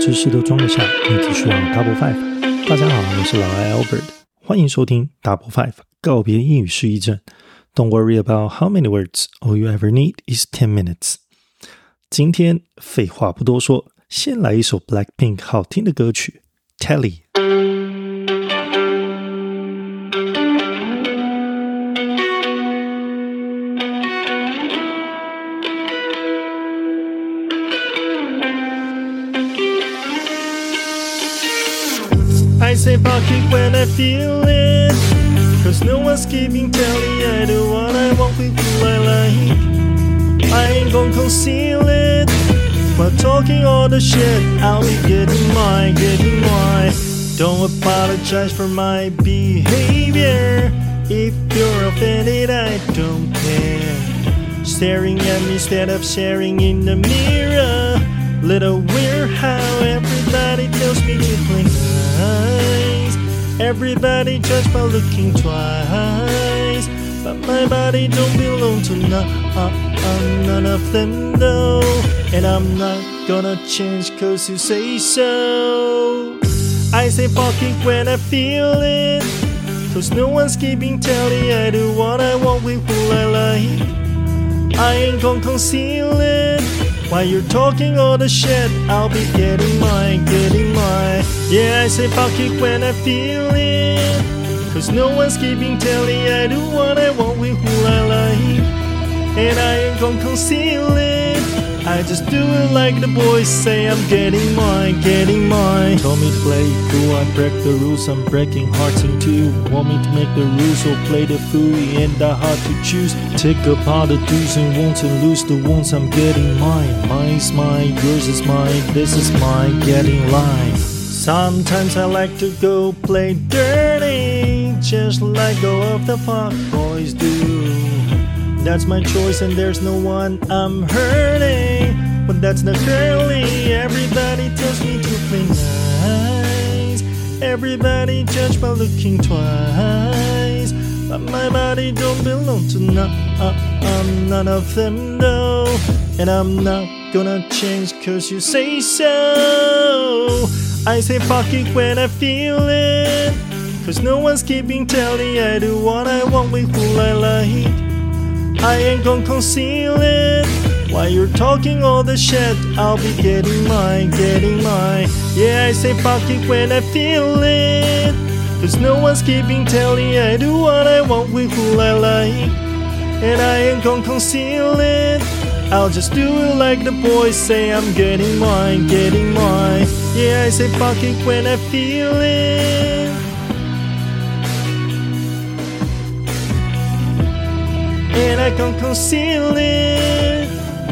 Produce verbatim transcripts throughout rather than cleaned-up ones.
知识都装得下，你只需要 Double Five。大家好，我是老艾 Albert， 欢迎收听 Double Five 告别英语失忆症。Don't worry about how many words, all you ever need is ten minutes。 今天废话不多说，先来一首 Blackpink 好听的歌曲 Telly。I say fuck it when I feel it, cause no one's keeping tally. I do what I want with who I like. I ain't gon' conceal it, but talking all the shit, I'll be getting mine, getting mine. Don't apologize for my behavior. If you're offended, I don't care. Staring at me instead of staring in the mirror. Little weird how everybody tells me to blink eyes. Everybody judge by looking twice, but my body don't belong to none, uh, uh, none of them though. And I'm not gonna change cause you say so. I say fuck it when I feel it, cause no one's keeping tally. I do what I want with who I like. I ain't gon' conceal it. While you're talking all the shit, I'll be getting mine, getting mine. Yeah, I say fuck it when I feel it, cause no one's keeping tally. I do what I want with who I like, and I ain't gon' conceal it. I just do it like the boys say. I'm getting mine, getting mine. Told me to play cool, I break the rules. I'm breaking hearts in two. Want me to make the rules, so play the fool. Ain't that hard to choose. Take apart the do's and won'ts and lose the won'ts. I'm getting mine. Mine's mine, yours is mine. This is mine, getting line. Sometimes I like to go play dirty, just like go of the fuck boys do. That's my choice and there's no one I'm hurting, but that's not girly. Everybody tells me to play nice. Everybody judge by looking twice, but my body don't belong to none, uh, uh, none of them though. And I'm not gonna change cause you say so. I say fuck it when I feel it, cause no one's keeping tally. I do what I want with who I like. I ain't gon' conceal it. While you're talking all the shit, I'll be getting mine, getting mine. Yeah, I say fuck it when I feel it, cause no one's keeping tally. I do what I want with who I like, and I ain't gon' conceal it. I'll just do it like the boys say. I'm getting mine, getting mine. Yeah, I say fuck it when I feel it, and I can't conceal it.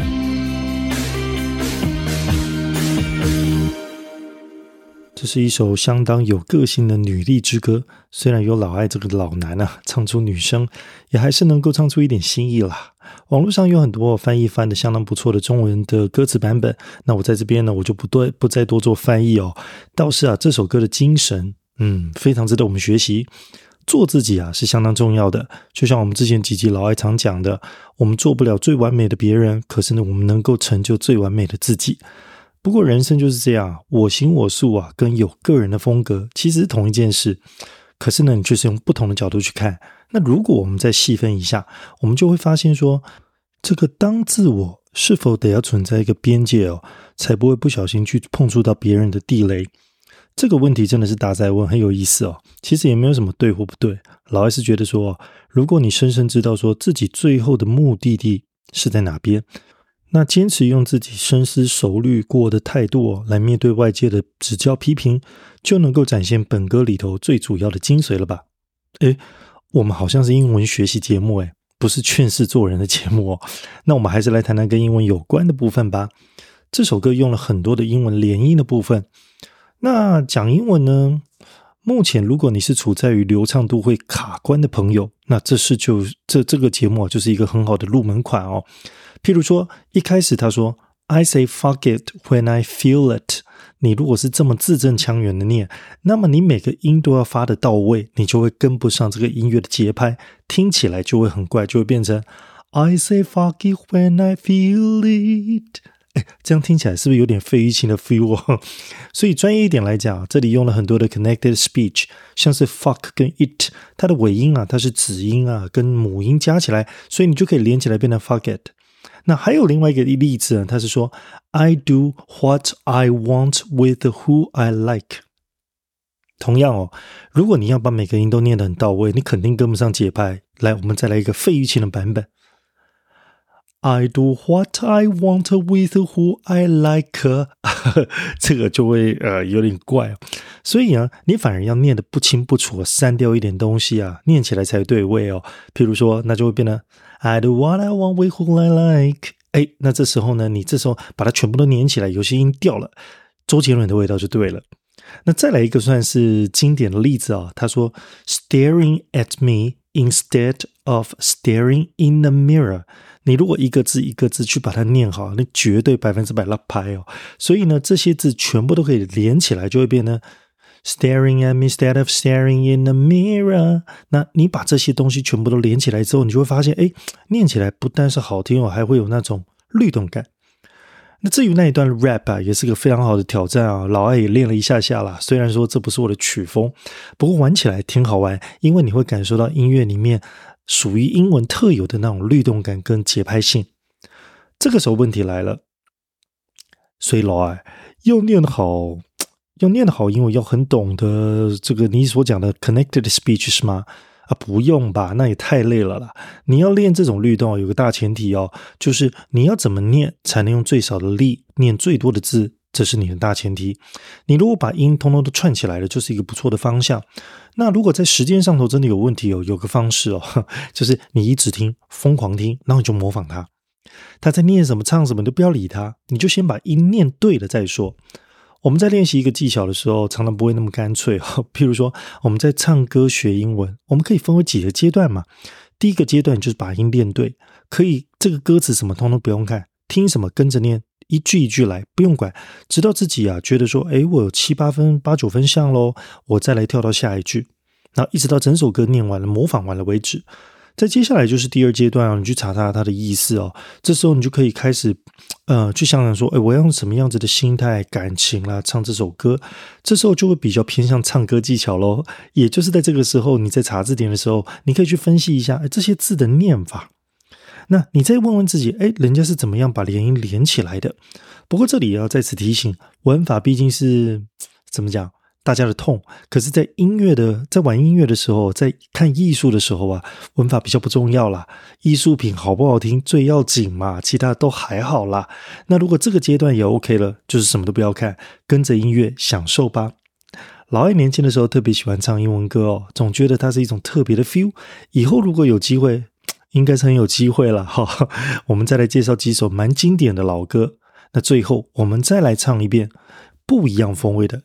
这是一首相当有个性的女力之歌，虽然有老艾这个老男啊唱出女声，也还是能够唱出一点新意啦。网络上有很多翻译翻的相当不错的中文的歌词版本，那我在这边呢我就不对不再多做翻译哦。倒是啊这首歌的精神嗯非常值得我们学习。做自己啊是相当重要的，就像我们之前几集老艾常讲的，我们做不了最完美的别人，可是呢我们能够成就最完美的自己。不过人生就是这样，我行我素啊跟有个人的风格其实是同一件事，可是呢你就是用不同的角度去看。那如果我们再细分一下，我们就会发现说，这个当自我是否得要存在一个边界哦，才不会不小心去碰触到别人的地雷。这个问题真的是大哉问，很有意思哦。其实也没有什么对或不对，老艾是觉得说，如果你深深知道说自己最后的目的地是在哪边，那坚持用自己深思熟虑过的态度哦，来面对外界的指教批评，就能够展现本歌里头最主要的精髓了吧。诶，我们好像是英文学习节目诶，不是劝世做人的节目哦。那我们还是来谈谈跟英文有关的部分吧。这首歌用了很多的英文连音的部分。那讲英文呢，目前如果你是处在于流畅度会卡关的朋友，那这是就这这个节目啊，就是一个很好的入门款哦。譬如说一开始他说 I say fuck it when I feel it， 你如果是这么字正腔圆的念，那么你每个音都要发得到位，你就会跟不上这个音乐的节拍，听起来就会很怪，就会变成 I say fuck it when I feel it 诶，这样听起来是不是有点费玉清的 feel 哦？所以专业一点来讲，这里用了很多的 connected speech， 像是 fuck 跟 it， 它的尾音啊，它是子音啊跟母音加起来，所以你就可以连起来变成 fuck it。那还有另外一个例子呢，它是说 I do what I want with who I like。 同样哦，如果你要把每个音都念得很到位，你肯定跟不上节拍。来，我们再来一个费玉清的版本， I do what I want with who I like 这个就会呃有点怪。所以啊，你反而要念得不清不楚，删掉一点东西啊，念起来才对味哦。譬如说，那就会变成 I do what I want with who I like。 哎，那这时候呢，你这时候把它全部都念起来，有些音掉了，周杰伦的味道就对了。那再来一个算是经典的例子啊，他说 staring at me instead of staring in the mirror。 你如果一个字一个字去把它念好，你绝对百分之百拉拍哦。所以呢，这些字全部都可以连起来，就会变成 staring at me instead of staring in the mirror。 那你把这些东西全部都连起来之后，你就会发现，哎，念起来不但是好听哦，还会有那种律动感。那至于那一段 rap 啊，也是个非常好的挑战啊，老艾也练了一下下啦。虽然说这不是我的曲风，不过玩起来挺好玩，因为你会感受到音乐里面属于英文特有的那种律动感跟节拍性。这个时候问题来了，所以老艾要念好，要念得好英文，要很懂得这个你所讲的 connected speech 是吗？啊，不用吧，那也太累了啦。你要练这种律动有个大前提哦，就是你要怎么念才能用最少的力念最多的字，这是你的大前提。你如果把音通通都串起来了，就是一个不错的方向。那如果在时间上头真的有问题哦，有个方式哦，就是你一直听，疯狂听，然后你就模仿他，他在念什么唱什么都不要理他，你就先把音念对了再说。我们在练习一个技巧的时候，常常不会那么干脆哦。譬如说，我们在唱歌学英文，我们可以分为几个阶段嘛。第一个阶段就是把音练对，可以这个歌词什么通通不用看，听什么跟着念，一句一句来，不用管，直到自己啊觉得说，诶，我有七八分、八九分像咯，我再来跳到下一句，然后一直到整首歌念完了、模仿完了为止。再接下来就是第二阶段啊，你去查查它的意思哦。这时候你就可以开始，呃，去想想说，哎，我要用什么样子的心态、感情啦唱这首歌。这时候就会比较偏向唱歌技巧咯。也就是在这个时候，你在查字典的时候，你可以去分析一下，哎，这些字的念法。那你再问问自己，哎，人家是怎么样把连音连起来的？不过这里也要在此提醒，文法毕竟是怎么讲？大家的痛，可是在音乐的在玩音乐的时候，在看艺术的时候啊，文法比较不重要啦，艺术品好不好听最要紧嘛，其他都还好啦。那如果这个阶段也 OK 了，就是什么都不要看，跟着音乐享受吧。老艾年轻的时候特别喜欢唱英文歌哦，总觉得它是一种特别的 feel。以后如果有机会，应该是很有机会了哈。我们再来介绍几首蛮经典的老歌。那最後我們再來唱一遍不一樣風味的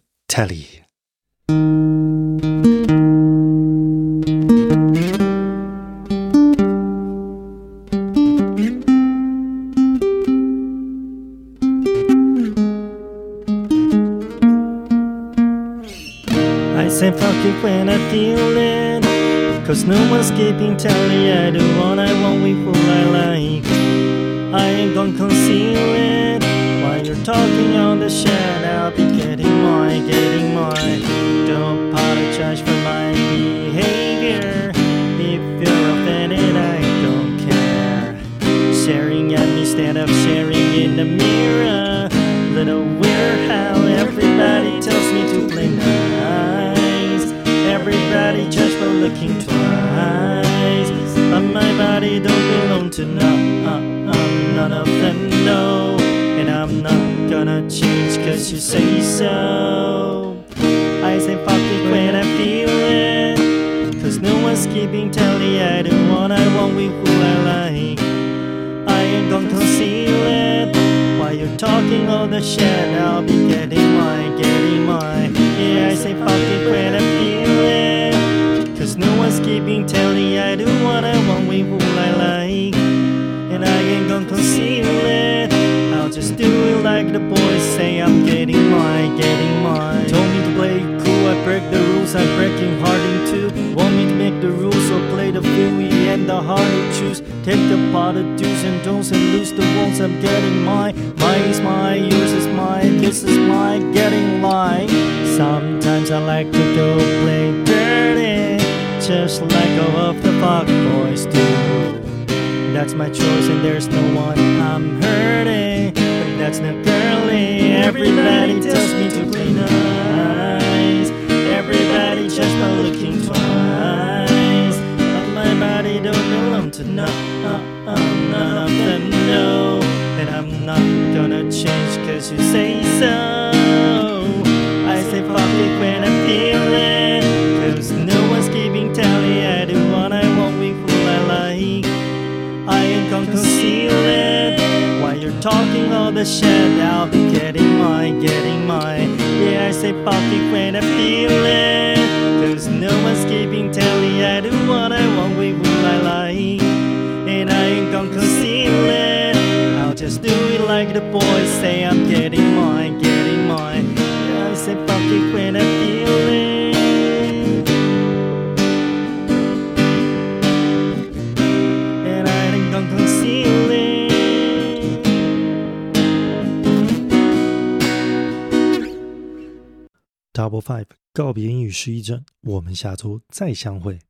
Telly。I say fuck it when I feel it, cause no one's keeping tally. I do what I want with who I like. I ain't gonna conceal it. While you're talking on the shed, I'll be getting more, getting more. Don't apologize for my behavior. If you're offended, I don't care. Staring at me instead of staring in the mirror. Little weird how everybody tells me to play nice. Everybody judge for looking twice. But my body don't belong to none, uh, uh, none of them know. And I'm not gonna change cause you say so. I say fuck it when I feel it, cause no one's keeping tally. I do what I want with who I like. I ain't gonna conceal it. While you're talking all the shit, I'll be getting mine, getting mine. Yeah, I say fuck it when I feel it, cause no one's keeping tally. I do what I want with who I like. And I ain't gonna conceal it. I'll just do it like the boys say. I'm getting mine, getting mine. Told me to play cool, I break the rules. I'm breaking hard in two. Want me to make the rules, so play the fool. Yeah, and the hard to choose. Take apart the do's and don'ts and lose the ones I'm getting mine. Mine is mine, yours is mine, this is mine, getting line. Sometimes I like to go play dirty, just like all of the fuck boys do. That's my choice and there's no one I'm hurting, but that's not girly. Everybody tells me to play nice, everybody just not looking twice. But my body don't belong to no, uh, uh, none of them know that I'm not gonna change cause you say so. I say fuck it when I feel it, cause no one's keeping tally. I do what I want with who I like. I ain't gonna conceal it. While you're talking all the shit, I'll be getting mine, getting mine. Yeah, I say fuck it when I feel it, cause no one's keeping tally. I do what I want with who I like, and I ain't gonna conceal it. I'll just do it like the boys say. I'm getting mine, getting mine. Yeah, I say fuck it when I feel it, conceal it. Double Five 告别英语失忆症，我们下周再相会。